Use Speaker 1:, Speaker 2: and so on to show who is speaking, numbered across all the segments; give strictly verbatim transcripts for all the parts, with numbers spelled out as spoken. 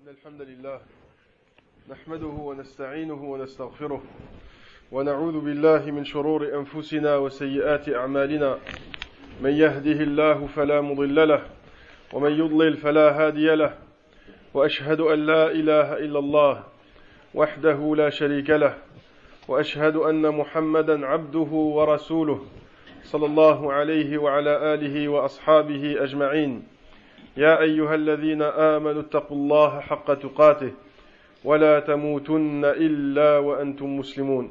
Speaker 1: إن الحمد لله نحمده ونستعينه ونستغفره ونعوذ بالله من شرور أنفسنا وسيئات أعمالنا من يهده الله فلا مضل له ومن يضلل فلا هادي له وأشهد أن لا إله إلا الله وحده لا شريك له وأشهد أن محمدا عبده ورسوله صلى الله عليه وعلى آله وأصحابه أجمعين يا أيها الذين آمنوا اتقوا الله حق تقاته ولا تموتن إلا وأنتم مسلمون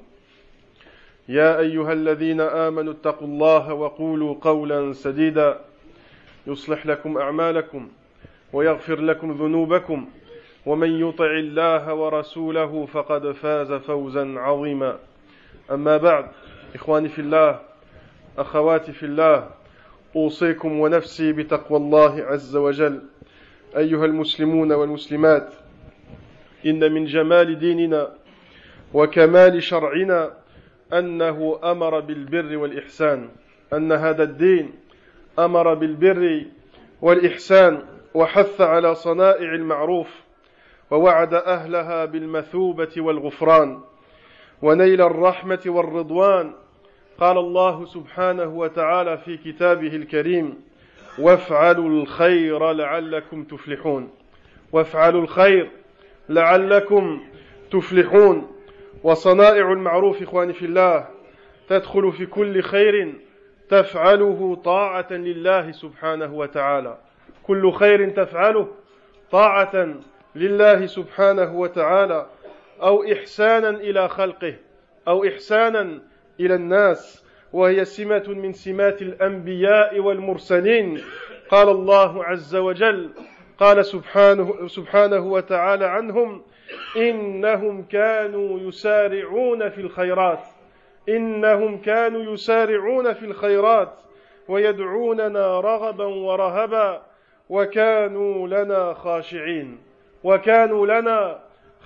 Speaker 1: يا أيها الذين آمنوا اتقوا الله وقولوا قولا سديدا يصلح لكم أعمالكم ويغفر لكم ذنوبكم ومن يطع الله ورسوله فقد فاز فوزا عظيما أما بعد إخواني في الله أخواتي في الله أوصيكم ونفسي بتقوى الله عز وجل أيها المسلمون والمسلمات إن من جمال ديننا وكمال شرعنا أنه أمر بالبر والإحسان أن هذا الدين أمر بالبر والإحسان وحث على صنائع المعروف ووعد أهلها بالمثوبة والغفران ونيل الرحمة والرضوان قال الله سبحانه وتعالى في كتابه الكريم وافعلوا الخير لعلكم تفلحون وافعلوا الخير لعلكم تفلحون وصنائع المعروف إخواني في الله تدخل في كل خير تفعله طاعة لله سبحانه وتعالى كل خير تفعله طاعة لله سبحانه وتعالى أو إحسانا إلى خلقه أو إحسانا إلى الناس وهي سمة من سمات الأنبياء والمرسلين قال الله عز وجل قال سبحانه, سبحانه وتعالى عنهم إنهم كانوا يسارعون في الخيرات إنهم كانوا يسارعون في الخيرات ويدعوننا رغبا ورهبا وكانوا لنا خاشعين وكانوا لنا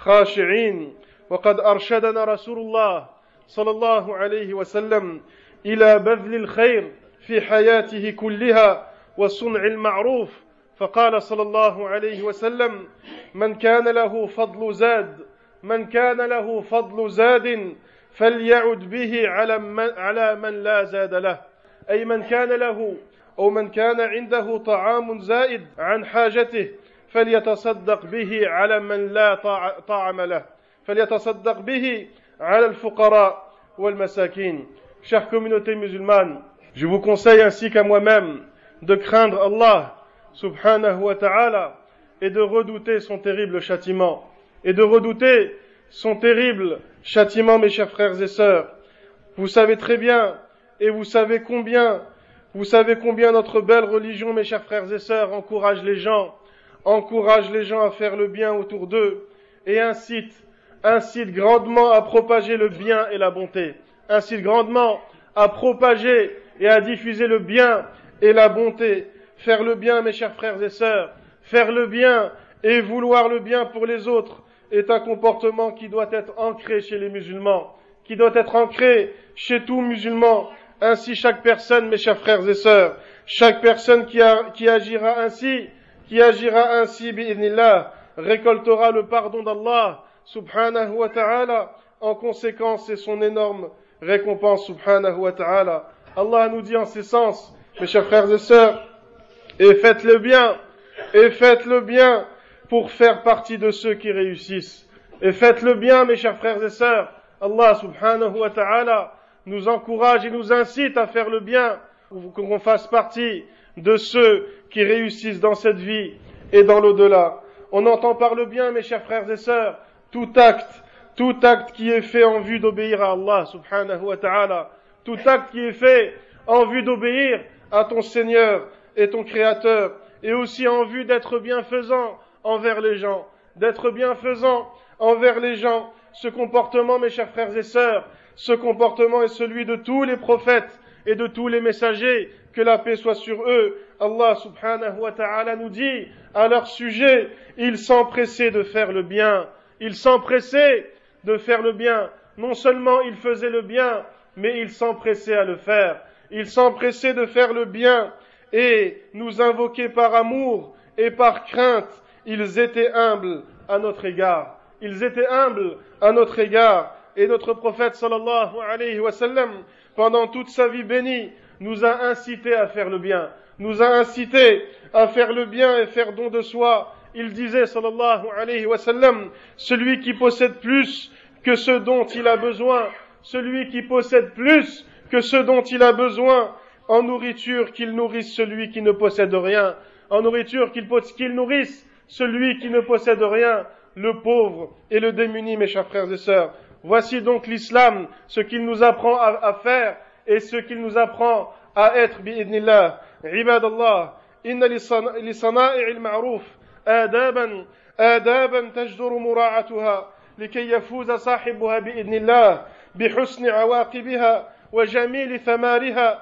Speaker 1: خاشعين وقد أرشدنا رسول الله صلى الله عليه وسلم إلى بذل الخير في حياته كلها وصنع المعروف فقال صلى الله عليه وسلم من كان له فضل زاد من كان له فضل زاد فليعد به على من, على من لا زاد له أي من كان له أو من كان عنده طعام زائد عن حاجته فليتصدق به على من لا طعام له فليتصدق به على الفقراء والمساكين. Chère communauté musulmane, je vous conseille ainsi qu'à moi-même de craindre Allah subhanahu wa ta'ala et de redouter son terrible châtiment. Et de redouter son terrible châtiment, mes chers frères et sœurs. Vous savez très bien, et vous savez combien, vous savez combien notre belle religion, mes chers frères et sœurs, encourage les gens, encourage les gens à faire le bien autour d'eux et incite, incite grandement à propager le bien et la bonté, incite grandement à propager et à diffuser le bien et la bonté. Faire le bien, mes chers frères et sœurs, faire le bien et vouloir le bien pour les autres est un comportement qui doit être ancré chez les musulmans, qui doit être ancré chez tout musulman. Ainsi, chaque personne, mes chers frères et sœurs, chaque personne qui, a, qui agira ainsi, qui agira ainsi, bi'idhnillah, récoltera le pardon d'Allah, subhanahu wa ta'ala. En conséquence, c'est son énorme récompense, subhanahu wa ta'ala. Allah nous dit en ces sens, mes chers frères et sœurs, et faites le bien, et faites le bien pour faire partie de ceux qui réussissent. Et faites le bien, mes chers frères et sœurs. Allah subhanahu wa ta'ala nous encourage et nous incite à faire le bien, pour qu'on fasse partie de ceux qui réussissent dans cette vie et dans l'au-delà. On entend par le bien, mes chers frères et sœurs, tout acte, tout acte qui est fait en vue d'obéir à Allah subhanahu wa ta'ala, tout acte qui est fait en vue d'obéir à ton Seigneur et ton Créateur, et aussi en vue d'être bienfaisant envers les gens, d'être bienfaisant envers les gens. Ce comportement, mes chers frères et sœurs, ce comportement est celui de tous les prophètes et de tous les messagers, que la paix soit sur eux. Allah subhanahu wa ta'ala nous dit à leur sujet, ils s'empressaient de faire le bien, ils s'empressaient de faire le bien. Non seulement ils faisaient le bien, mais ils s'empressaient à le faire. Ils s'empressaient de faire le bien et nous invoquer par amour et par crainte ils étaient humbles à notre égard. Ils étaient humbles à notre égard. Et notre prophète sallallahu alayhi wa sallam, pendant toute sa vie bénie, nous a incité à faire le bien. Nous a incité à faire le bien et faire don de soi. Il disait sallallahu alayhi wa sallam, celui qui possède plus que ce dont il a besoin, celui qui possède plus que ce dont il a besoin, en nourriture qu'il nourrisse celui qui ne possède rien, en nourriture qu'il, qu'il nourrisse celui qui ne possède rien, le pauvre et le démuni, mes chers frères et sœurs. Voici donc l'islam, ce qu'il nous apprend à, à faire et ce qu'il nous apprend à être, bi'idnillah. Ibadallah, inna li sana'i al-ma'ruf آدابا آدابا تجدر مراعاتها لكي يفوز صاحبها بإذن الله بحسن عواقبها وجميل ثمارها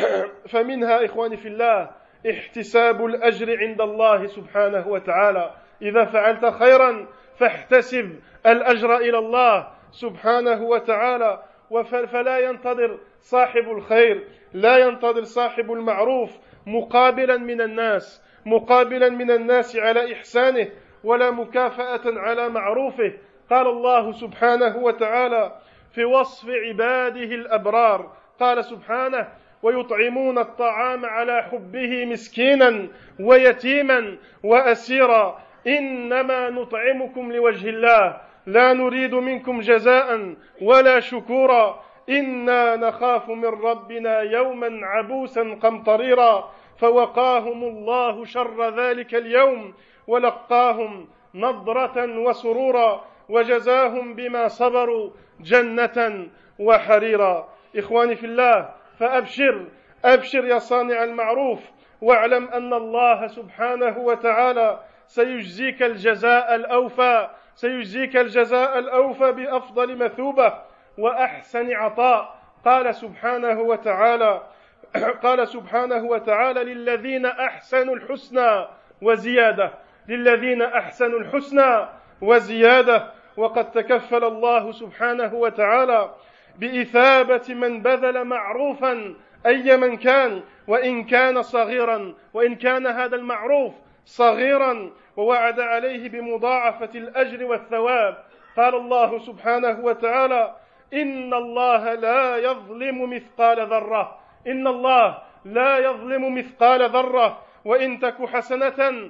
Speaker 1: فمنها إخواني في الله احتساب الأجر عند الله سبحانه وتعالى إذا فعلت خيرا فاحتسب الأجر إلى الله سبحانه وتعالى فلا ينتظر صاحب الخير لا ينتظر صاحب المعروف مقابلا من الناس مقابلا من الناس على إحسانه ولا مكافأة على معروفه. قال الله سبحانه وتعالى في وصف عباده الأبرار قال سبحانه ويطعمون الطعام على حبه مسكينا ويتيما وأسيرا إنما نطعمكم لوجه الله لا نريد منكم جزاء ولا شكورا إنا نخاف من ربنا يوما عبوسا قمطريرا فوقاهم الله شر ذلك اليوم ولقاهم نضرة وسرورا وجزاهم بما صبروا جنة وحريرا. إخواني في الله فأبشر أبشر يا صانع المعروف واعلم أن الله سبحانه وتعالى سيجزيك الجزاء الأوفى سيجزيك الجزاء الأوفى بأفضل مثوبة وأحسن عطاء. قال سبحانه وتعالى قال سبحانه وتعالى للذين أحسنوا الحسنى وزيادة للذين أحسنوا الحسنى وزيادة وقد تكفل الله سبحانه وتعالى بإثابة من بذل معروفا أي من كان وإن كان صغيرا وإن كان هذا المعروف صغيرا ووعد عليه بمضاعفة الأجر والثواب. قال الله سبحانه وتعالى إن الله لا يظلم مثقال ذرة إن الله لا يظلم مثقال ذرة وإن تك حسنة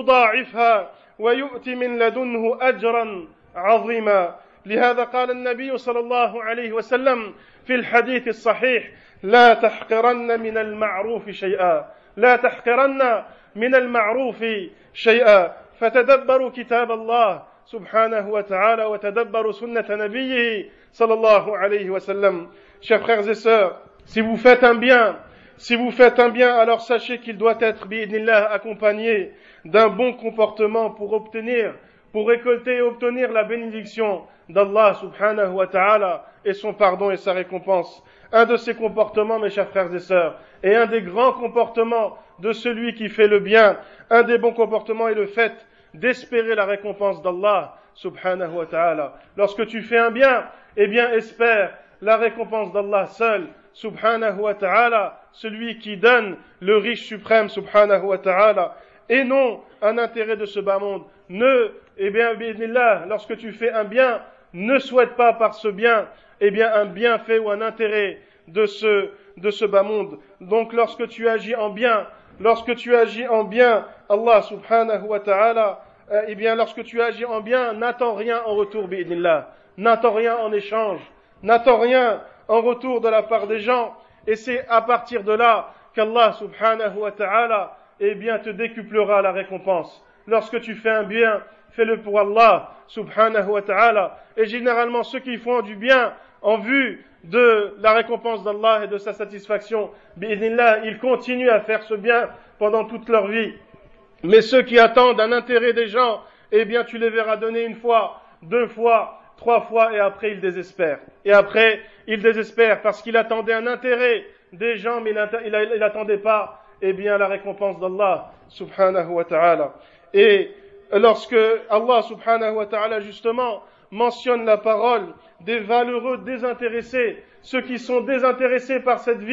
Speaker 1: يضاعفها ويؤتي من لدنه أجرا عظيما. لهذا قال النبي صلى الله عليه وسلم في الحديث الصحيح لا تحقرن من المعروف شيئا لا تحقرن من المعروف شيئا. فتدبروا كتاب الله سبحانه وتعالى وتدبروا سنة نبيه صلى الله عليه وسلم. Chers frères et sœurs, si vous faites un bien, si vous faites un bien, alors sachez qu'il doit être bi'idnillah accompagné d'un bon comportement pour obtenir, pour récolter et obtenir la bénédiction d'Allah subhanahu wa ta'ala et son pardon et sa récompense. Un de ces comportements, mes chers frères et sœurs, et un des grands comportements de celui qui fait le bien, un des bons comportements est le fait d'espérer la récompense d'Allah subhanahu wa ta'ala. Lorsque tu fais un bien, eh bien espère la récompense d'Allah seul subhanahu wa ta'ala, celui qui donne le riche suprême subhanahu wa ta'ala, et non un intérêt de ce bas monde. Ne, eh bien, bi'idnillah, lorsque tu fais un bien, ne souhaite pas par ce bien, eh bien, un bienfait ou un intérêt de ce, de ce bas monde. Donc, lorsque tu agis en bien, lorsque tu agis en bien, Allah subhanahu wa ta'ala, euh, eh bien, lorsque tu agis en bien, n'attends rien en retour, bi'idnillah. N'attends rien en échange. N'attends rien en retour de la part des gens. Et c'est à partir de là qu'Allah subhanahu wa ta'ala, eh bien, te décuplera la récompense. Lorsque tu fais un bien, fais-le pour Allah subhanahu wa ta'ala. Et généralement, ceux qui font du bien en vue de la récompense d'Allah et de sa satisfaction, bi'idhnillah, ils continuent à faire ce bien pendant toute leur vie. Mais ceux qui attendent un intérêt des gens, eh bien, tu les verras donner une fois, deux fois, trois fois, et après ils désespèrent. Et après, ils désespèrent parce qu'ils attendaient un intérêt des gens, mais ils n'attendaient pas, eh bien, la récompense d'Allah subhanahu wa ta'ala. Et lorsque Allah subhanahu wa ta'ala justement mentionne la parole des valeureux désintéressés, ceux qui sont désintéressés par cette vie,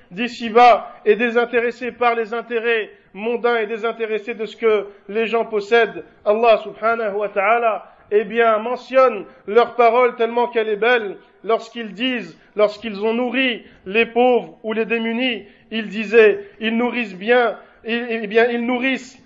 Speaker 1: d'ici-bas et désintéressé par les intérêts mondains et désintéressé de ce que les gens possèdent, Allah subhanahu wa ta'ala, eh bien, mentionne leur parole tellement qu'elle est belle lorsqu'ils disent, lorsqu'ils ont nourri les pauvres ou les démunis, ils disaient, ils nourrissent bien, eh bien, ils nourrissent,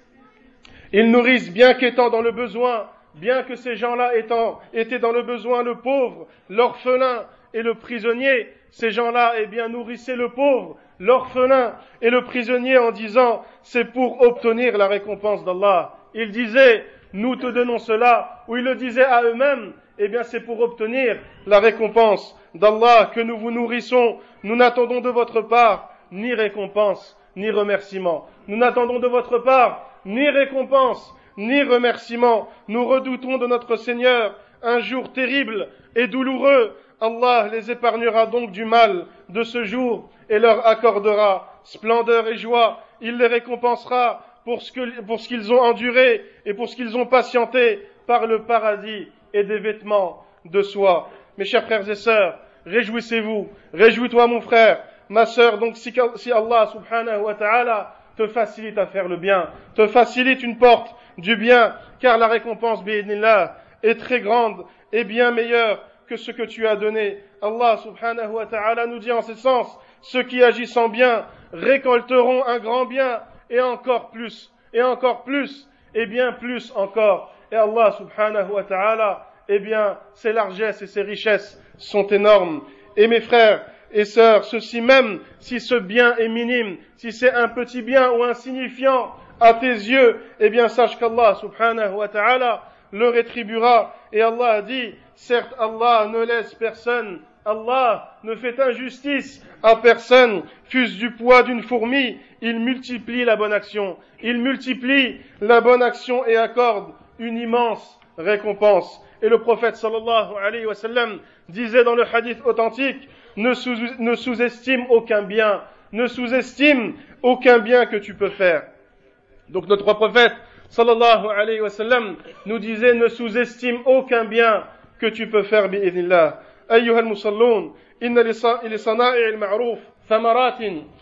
Speaker 1: ils nourrissent bien qu'étant dans le besoin, bien que ces gens-là étant, étaient dans le besoin, le pauvre, l'orphelin et le prisonnier, ces gens-là, eh bien, nourrissaient le pauvre, l'orphelin et le prisonnier en disant, c'est pour obtenir la récompense d'Allah. Ils disaient, nous te donnons cela, ou ils le disaient à eux-mêmes, eh bien, c'est pour obtenir la récompense d'Allah que nous vous nourrissons. Nous n'attendons de votre part ni récompense, ni remerciement. Nous n'attendons de votre part ni récompense, ni remerciement. Nous redoutons de notre Seigneur un jour terrible et douloureux. Allah les épargnera donc du mal de ce jour et leur accordera splendeur et joie. Il les récompensera pour ce que, pour ce qu'ils ont enduré et pour ce qu'ils ont patienté par le paradis et des vêtements de soie. Mes chers frères et sœurs, réjouissez-vous, réjouis-toi mon frère, ma sœur, donc si, si Allah subhanahu wa ta'ala te facilite à faire le bien, te facilite une porte du bien, car la récompense bi'idnillah est très grande et bien meilleure que ce que tu as donné. Allah subhanahu wa ta'ala nous dit en ce sens, ceux qui agissent en bien récolteront un grand bien et encore plus, et encore plus, et bien plus encore. Et Allah subhanahu wa ta'ala, eh bien, ses largesses et ses richesses sont énormes. Et mes frères et sœurs, ceci même, si ce bien est minime, si c'est un petit bien ou insignifiant à tes yeux, eh bien, sache qu'Allah subhanahu wa ta'ala le rétribuera. Et Allah a dit, certes, Allah ne laisse personne, Allah ne fait injustice à personne, fût-ce du poids d'une fourmi, il multiplie la bonne action, il multiplie la bonne action et accorde une immense récompense. Et le prophète sallallahu alayhi wa sallam disait dans le hadith authentique, ne, sous, ne sous-estime aucun bien, ne sous-estime aucun bien que tu peux faire. Donc notre prophète sallallahu alayhi wa sallam nous disait, ne sous-estime aucun bien que tu peux faire bi'idhnillah. أيها المصلون إن لصنائع المعروف ثمرات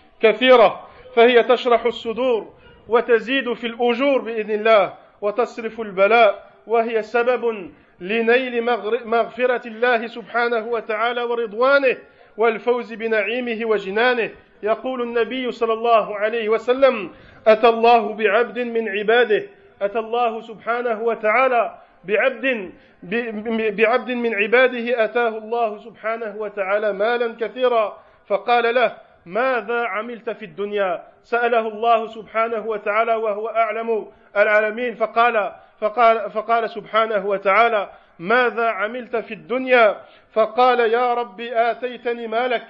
Speaker 1: كثيرة فهي تشرح الصدور وتزيد في الأجور بإذن الله وتصرف البلاء وهي سبب لنيل مغفرة الله سبحانه وتعالى ورضوانه والفوز بنعيمه وجنانه. يقول النبي صلى الله عليه وسلم أتى الله بعبد من عباده أتى الله سبحانه وتعالى بعبد بعبد من عباده أتاه الله سبحانه وتعالى مالا كثيرا فقال له ماذا عملت في الدنيا سأله الله سبحانه وتعالى وهو أعلم العالمين فقال فقال فقال سبحانه وتعالى ماذا عملت في الدنيا فقال يا ربي آتيتني مالك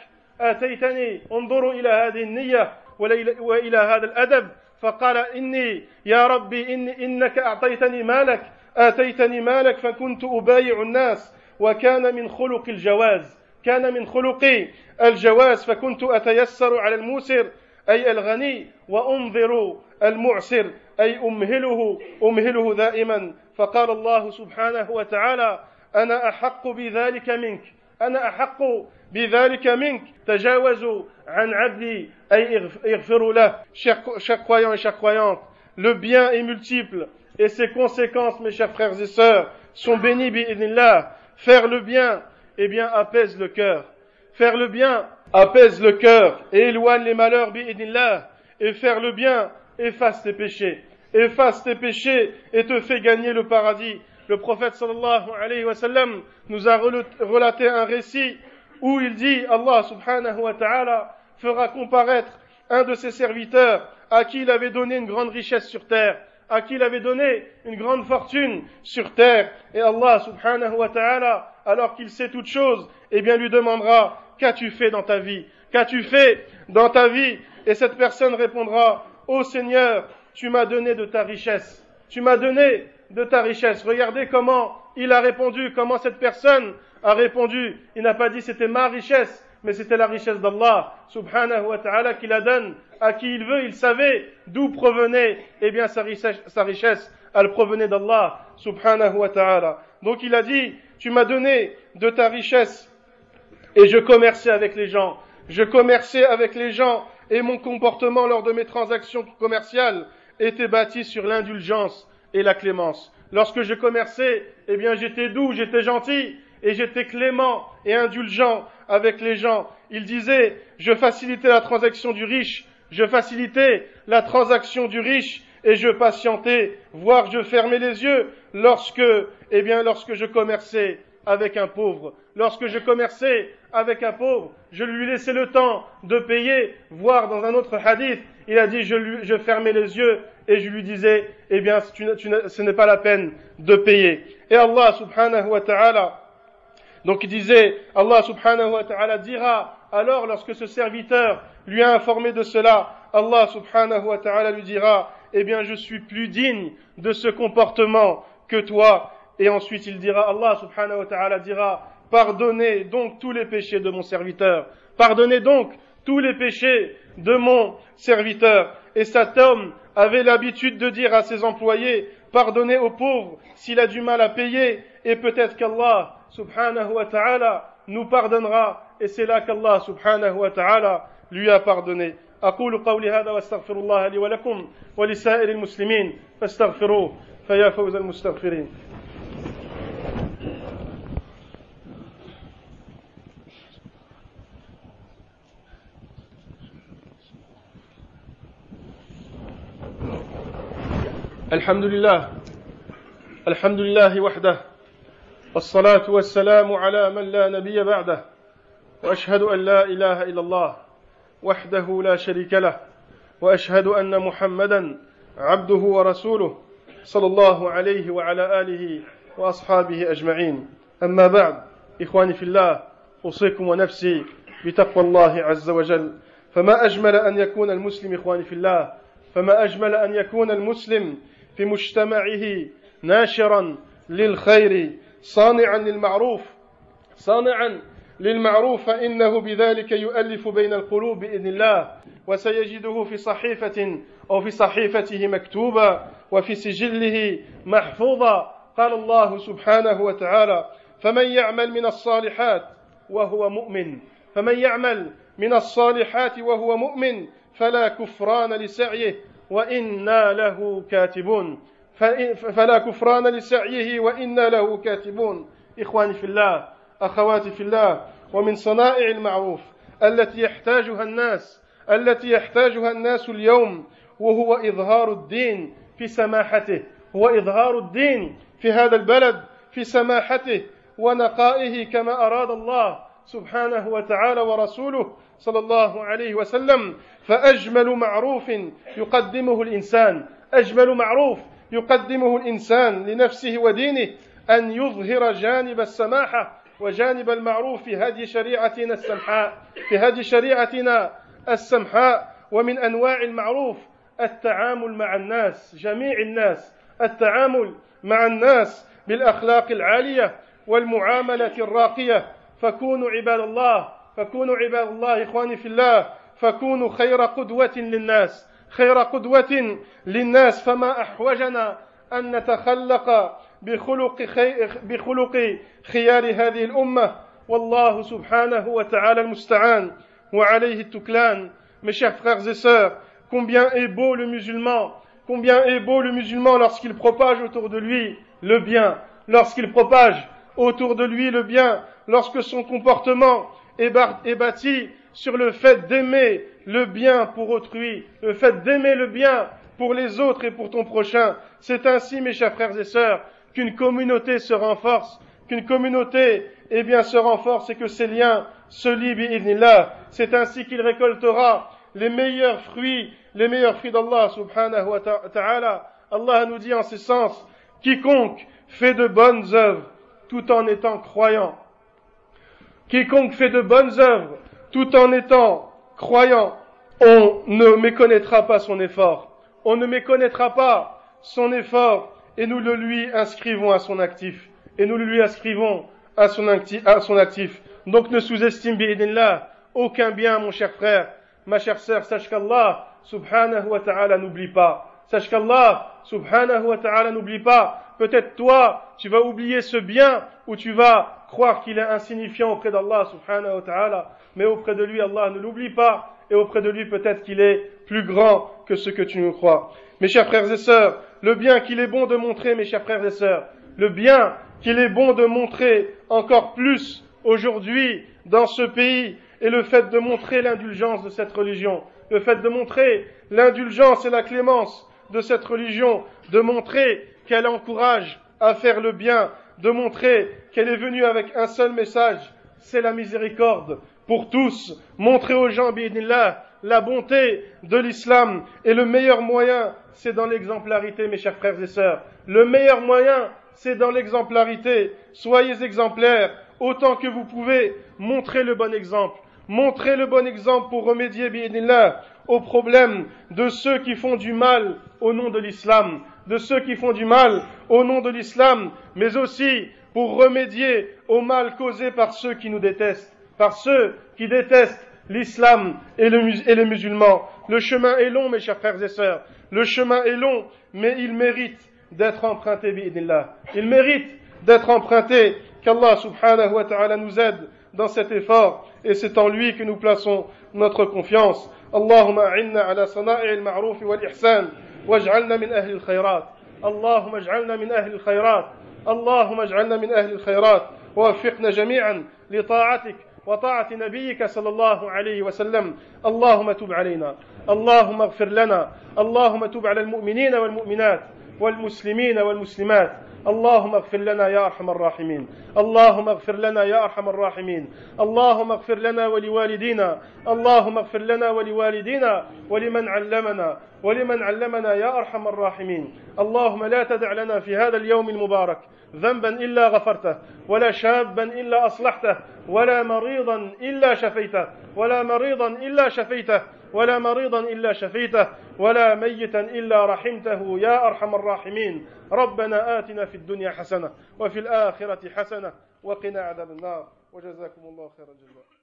Speaker 1: آتيتني انظروا إلى هذه النية وإلى هذا الأدب فقال إني يا ربي إني إنك أعطيتني مالك آتيتني مالك فكنت أبايع الناس وكان من خلق الجواز كان من خلقي الجواز فكنت أتيسر على الموسر أي الغني وأنظر المعسر أي أمهله أمهله دائما فقال الله سبحانه وتعالى أنا أحق بذلك منك أنا أحق بذلك منك تجاوزوا عن عبدي أي اغفروا له. Chers croyants et chers croyantes, le bien est multiple et ses conséquences, mes chers frères et sœurs, sont bénies bi'idhnillah. Faire le bien, eh bien, apaise le cœur. Faire le bien apaise le cœur et éloigne les malheurs bi'idhnillah. Et faire le bien efface tes péchés. Efface tes péchés et te fait gagner le paradis. Le prophète sallallahu alayhi wa sallam nous a relaté un récit où il dit, Allah subhanahu wa ta'ala fera comparaître un de ses serviteurs à qui il avait donné une grande richesse sur terre, à qui il avait donné une grande fortune sur terre. Et Allah subhanahu wa ta'ala, alors qu'il sait toutes choses, eh bien lui demandera, qu'as-tu fait dans ta vie? Qu'as-tu fait dans ta vie? Et cette personne répondra, ô Seigneur, tu m'as donné de ta richesse. Tu m'as donné de ta richesse. Regardez comment il a répondu, comment cette personne a répondu. Il n'a pas dit c'était ma richesse, mais c'était la richesse d'Allah subhanahu wa ta'ala qui la donne à qui il veut. Il savait d'où provenait, eh bien, sa richesse, sa richesse, elle provenait d'Allah subhanahu wa ta'ala. Donc il a dit, tu m'as donné de ta richesse et je commerçais avec les gens. je commerçais avec les gens et mon comportement lors de mes transactions commerciales était bâti sur l'indulgence et la clémence. Lorsque je commerçais, eh bien j'étais doux, j'étais gentil et j'étais clément et indulgent avec les gens. Il disait, je facilitais la transaction du riche, je facilitais la transaction du riche et je patientais, voire je fermais les yeux lorsque, eh bien lorsque je commerçais avec un pauvre. Lorsque je commerçais avec un pauvre, je lui laissais le temps de payer, voire dans un autre hadith, il a dit, je, lui, je fermais les yeux et je lui disais, eh bien, tu, tu, ce n'est pas la peine de payer. Et Allah subhanahu wa ta'ala, donc il disait, Allah subhanahu wa ta'ala dira, alors lorsque ce serviteur lui a informé de cela, Allah subhanahu wa ta'ala lui dira, eh bien, je suis plus digne de ce comportement que toi. Et ensuite il dira, Allah subhanahu wa ta'ala dira, pardonnez donc tous les péchés de mon serviteur. Pardonnez donc tous les péchés de mon serviteur. Et cet homme avait l'habitude de dire à ses employés, pardonnez aux pauvres s'il a du mal à payer, et peut-être qu'Allah subhanahu wa ta'ala nous pardonnera, et c'est là qu'Allah subhanahu wa ta'ala lui a pardonné. أقول قولي هذا واستغفر الله لي ولكم ولسائر المسلمين فاستغفروه فيا فوز المستغفرين. الحمد لله الحمد لله وحده والصلاة والسلام على من لا نبي بعده وأشهد أن لا إله إلا الله وحده لا شريك له وأشهد أن محمدا عبده ورسوله صلى الله عليه وعلى آله وأصحابه أجمعين. أما بعد إخواني في الله أوصيكم ونفسي بتقوى الله عز وجل. فما أجمل أن يكون المسلم إخواني في الله فما أجمل أن يكون المسلم في مجتمعه ناشرا للخير صانعا للمعروف صانعا للمعروف فإنه بذلك يؤلف بين القلوب بإذن الله وسيجده في صحيفة أو في صحيفته مكتوبا وفي سجله محفوظا. قال الله سبحانه وتعالى فمن يعمل من الصالحات وهو مؤمن فمن يعمل من الصالحات وهو مؤمن فلا كفران لسعيه وإنا له كاتبون فلا كفران لسعيه وإنا له كاتبون. إخواني في الله أخواتي في الله ومن صنائع المعروف التي يحتاجها الناس التي يحتاجها الناس اليوم وهو إظهار الدين في سماحته هو إظهار الدين في هذا البلد في سماحته ونقائه كما أراد الله سبحانه وتعالى ورسوله صلى الله عليه وسلم. فأجمل معروف يقدمه الإنسان أجمل معروف يقدمه الإنسان لنفسه ودينه أن يظهر جانب السماحة وجانب المعروف في هذه شريعتنا السمحاء في هذه شريعتنا السمحاء. ومن أنواع المعروف التعامل مع الناس جميع الناس التعامل مع الناس بالأخلاق العالية والمعاملة الراقية. فكونوا عباد الله فكونوا عباد الله إخواني في الله فكونوا خير قدوة للناس خير قدوة للناس. فما أحوجنا أن نتخلق بخلق, خي... بخلق خيار هذه الأمة والله سبحانه وتعالى المستعان وعليه التكلان. Mes chers frères et sœurs, combien est beau le musulman, combien est beau le musulman lorsqu'il propage autour de lui le bien, lorsqu'il propage autour de lui le bien, lorsque son comportement est bâti sur le fait d'aimer le bien pour autrui, le fait d'aimer le bien pour les autres et pour ton prochain. C'est ainsi, mes chers frères et sœurs, qu'une communauté se renforce, qu'une communauté, eh bien, se renforce et que ses liens se lient bi'idhnillah. C'est ainsi qu'il récoltera les meilleurs fruits, les meilleurs fruits d'Allah subhanahu wa ta'ala. Allah nous dit en ce sens, quiconque fait de bonnes œuvres tout en étant croyant, quiconque fait de bonnes œuvres tout en étant croyant, on ne méconnaîtra pas son effort, on ne méconnaîtra pas son effort et nous le lui inscrivons à son actif, et nous le lui inscrivons à son actif. À son actif. Donc ne sous-estime bi'idhnillah aucun bien, mon cher frère, ma chère sœur, sache qu'Allah subhanahu wa ta'ala n'oublie pas. Sache qu'Allah, subhanahu wa ta'ala, n'oublie pas. Peut-être toi, tu vas oublier ce bien ou tu vas croire qu'il est insignifiant auprès d'Allah, subhanahu wa ta'ala. Mais auprès de lui, Allah ne l'oublie pas. Et auprès de lui, peut-être qu'il est plus grand que ce que tu nous crois. Mes chers frères et sœurs, le bien qu'il est bon de montrer, mes chers frères et sœurs, le bien qu'il est bon de montrer encore plus aujourd'hui dans ce pays est le fait de montrer l'indulgence de cette religion, le fait de montrer l'indulgence et la clémence de cette religion, de montrer qu'elle encourage à faire le bien, de montrer qu'elle est venue avec un seul message, c'est la miséricorde pour tous, montrer aux gens, bi'idhnillah, la bonté de l'islam. Et le meilleur moyen, c'est dans l'exemplarité, mes chers frères et sœurs. Le meilleur moyen, c'est dans l'exemplarité. Soyez exemplaires, autant que vous pouvez, montrez le bon exemple. Montrez le bon exemple pour remédier, bi'idhnillah, aux problèmes de ceux qui font du mal au nom de l'islam, de ceux qui font du mal au nom de l'islam, mais aussi pour remédier au mal causé par ceux qui nous détestent, par ceux qui détestent l'islam et, le, et les musulmans. Le chemin est long, mes chers frères et sœurs. Le chemin est long, mais il mérite d'être emprunté, bi'idhnillah. Il mérite d'être emprunté. Qu'Allah subhanahu wa ta'ala nous aide dans cet effort. Et c'est en lui que nous plaçons notre confiance. Allahumma a'inna ala sana'i al-ma'ruf wal-ihsan. Waj'alna min ahli al-khayrat. Allahumma ij'alna min ahli al-khayrat. Allahumma ij'alna min ahli al-khayrat. ووفقنا جميعا لطاعتك وطاعة نبيك صلى الله عليه وسلم. اللهم تب علينا، اللهم اغفر لنا، اللهم تب على المؤمنين والمؤمنات والمسلمين والمسلمات. اللهم اغفر لنا يا أرحم الراحمين، اللهم اغفر لنا يا أرحم الراحمين، اللهم اغفر لنا ولوالدينا، اللهم اغفر لنا ولوالدينا ولمن علمنا ولمن علمنا يا أرحم الراحمين. اللهم لا تدع لنا في هذا اليوم المبارك ذنبا إلا غفرته، ولا شابا إلا أصلحته، ولا مريضا إلا شفيته، ولا مريضا إلا شفيته، ولا مريضا إلا شفيته، ولا ميتا إلا رحمته يا أرحم الراحمين. ربنا آتنا في الدنيا حسنة وفي الآخرة حسنة وقنا عذاب النار وجزاكم الله خير الجزاء.